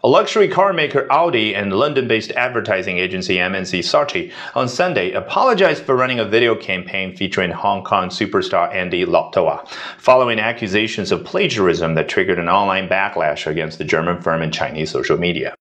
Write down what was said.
A luxury car maker Audi and London-based advertising agency MNC Saatchi on Sunday apologized for running a video campaign featuring Hong Kong superstar Andy Lau Toa, following accusations of plagiarism that triggered an online backlash against the German firm in Chinese social media.